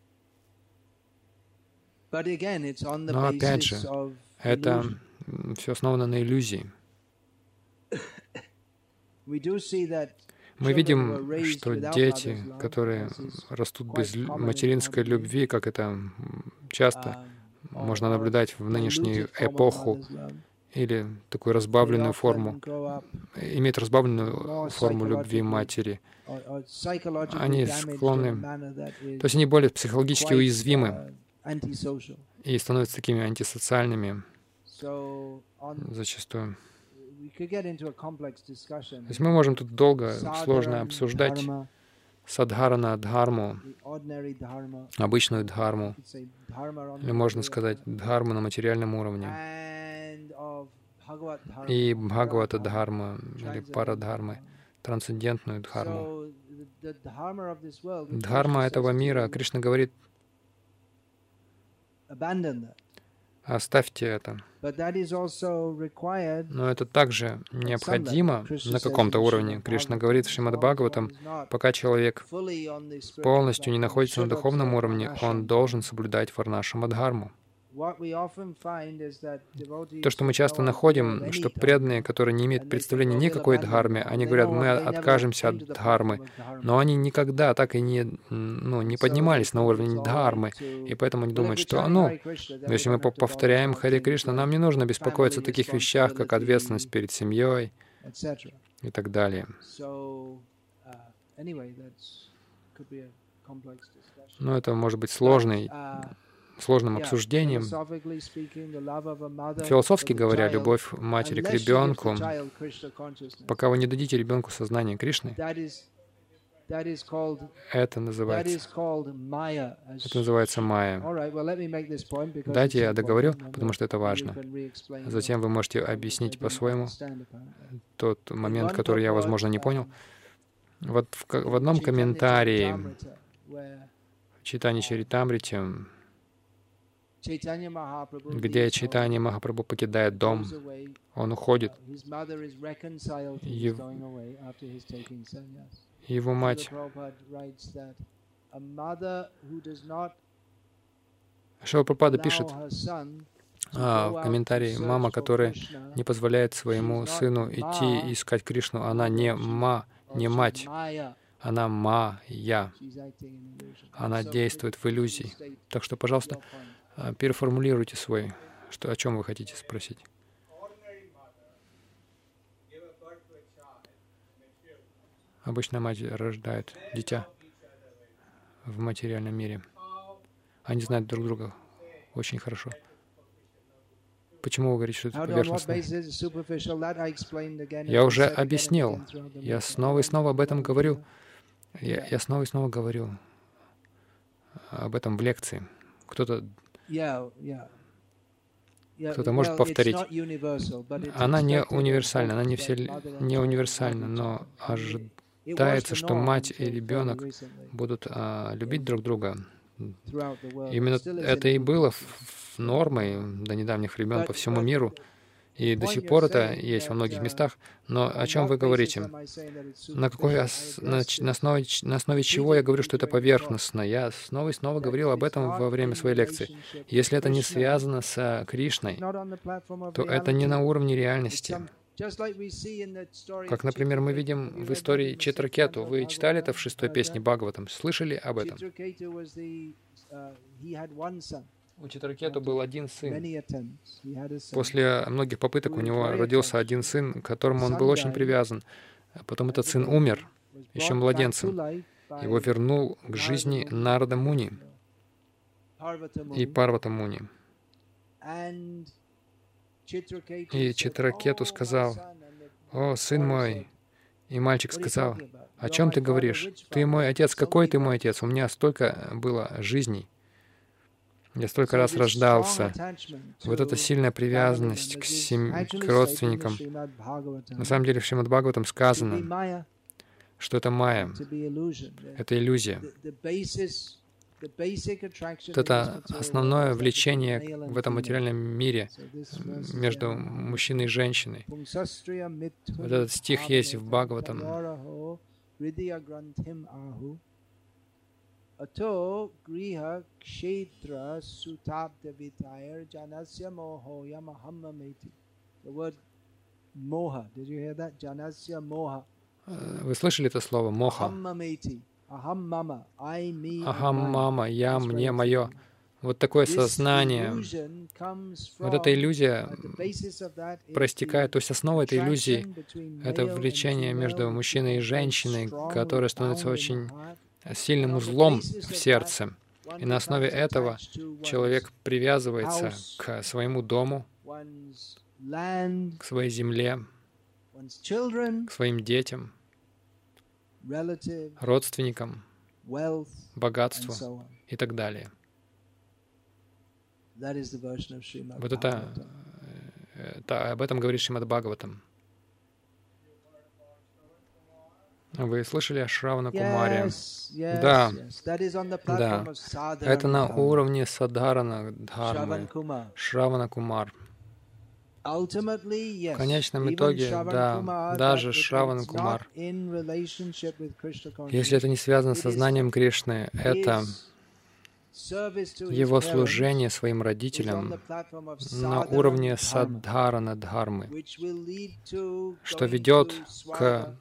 Но опять же, это все основано на иллюзии. Мы видим, что дети, которые растут без материнской любви, как это часто можно наблюдать в нынешнюю эпоху, или такую разбавленную форму, имеют разбавленную форму любви матери, они склонны, то есть они более психологически уязвимы и становятся такими антисоциальными зачастую. То есть мы можем тут долго, сложно обсуждать садхарана дхарму, обычную дхарму, или можно сказать дхарму на материальном уровне, и бхагавата дхарма, или парадхармы, трансцендентную дхарму. Дхарма этого мира, Кришна говорит, оставьте это. Но это также необходимо на каком-то уровне. Кришна говорит в Шримад Бхагаватам, пока человек полностью не находится на духовном уровне, он должен соблюдать варнашрама-дхарму. То, что мы часто находим, что преданные, которые не имеют представления ни о какой дхарме, они говорят, мы откажемся от дхармы, но они никогда так и не поднимались на уровень дхармы, и поэтому они думают, что, если мы повторяем Харе Кришна, нам не нужно беспокоиться о таких вещах, как ответственность перед семьей и так далее. Но это может быть сложным обсуждением. Философски говоря, любовь матери к ребенку, пока вы не дадите ребенку сознание Кришны, это называется майя. Дайте я договорю, потому что это важно. Затем вы можете объяснить по-своему тот момент, который я, возможно, не понял. Вот в одном комментарии в Чайтанья Чаритамрите, где Чайтанья Махапрабху покидает дом, он уходит. Его мать. Шрила Прабхупада пишет, В комментарии мама, которая не позволяет своему сыну идти искать Кришну, она не мать, она Майя. Она действует в иллюзии. Так что, пожалуйста, переформулируйте о чем вы хотите спросить. Обычно мать рождает дитя в материальном мире. Они знают друг друга очень хорошо. Почему вы говорите, что это поверхностно? Я уже объяснил. Я снова и снова об этом говорю. Я снова и снова говорю об этом в лекции. Кто-то может повторить. Она не универсальна, она не универсальна, но ожидается, что мать и ребенок будут любить друг друга. Именно это и было нормой до недавних времен по всему миру. И до сих пор это есть во многих местах. Но о чем вы говорите? На основе чего я говорю, что это поверхностно? Я снова и снова говорил об этом во время своей лекции. Если это не связано с Кришной, то это не на уровне реальности. Как, например, мы видим в истории Читракету. Вы читали это в 6-й песне Бхагаватам? Слышали об этом? У Читракету был один сын. После многих попыток у него родился один сын, к которому он был очень привязан. Потом этот сын умер, еще младенцем. Его вернул к жизни Нарада Муни и Парвата Муни. И Читракету сказал: «О, сын мой!» И мальчик сказал: «О чем ты говоришь? Ты мой отец. Какой ты мой отец? У меня столько было жизней. Я столько раз рождался». Вот эта сильная привязанность к родственникам. На самом деле в Шримад Бхагаватам сказано, что это майя, это иллюзия. Это основное влечение в этом материальном мире между мужчиной и женщиной. Вот этот стих есть в Бхагаватам. Ато гриха кшетра сутабдавитайр janasya mohoya mahamameti. The word moha. Did you hear that? Janasya moha. Вы слышали это слово моха? Ахам мама, я, мне, мое. Вот такое сознание. Вот эта иллюзия проистекает, то есть основа этой иллюзии — это влечение между мужчиной и женщиной, которое становится очень сильным узлом в сердце. И на основе этого человек привязывается к своему дому, к своей земле, к своим детям, родственникам, богатству и так далее. Вот это об этом говорит Шримад Бхагаватам. Вы слышали о Шравана Кумаре? Да. Это на уровне Садхарана Дхармы. Шравана Кумар. В конечном итоге, да, даже Шравана Кумар, если это не связано с сознанием Кришны, это его служение своим родителям на уровне Садхарана Дхармы, что ведет к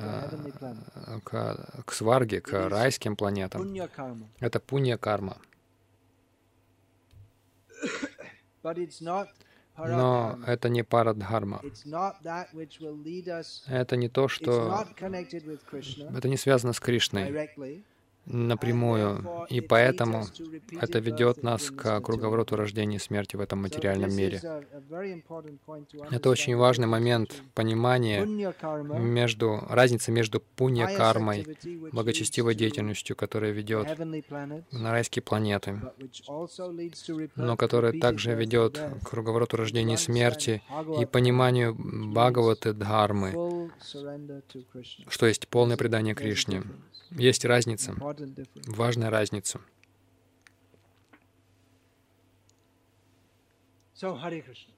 сварге, к райским планетам. Это пунья-карма. Но это не парадхарма. Это не то, что... Это не связано с Кришной напрямую, и поэтому это ведет нас к круговороту рождения и смерти в этом материальном мире. Это очень важный момент понимания разницы между пунья-кармой, благочестивой деятельностью, которая ведет на райские планеты, но которая также ведет к круговороту рождения и смерти и пониманию Бхагаваты Дхармы, что есть полное предание Кришне. Есть разница, важная разница. So, Hare Krishna.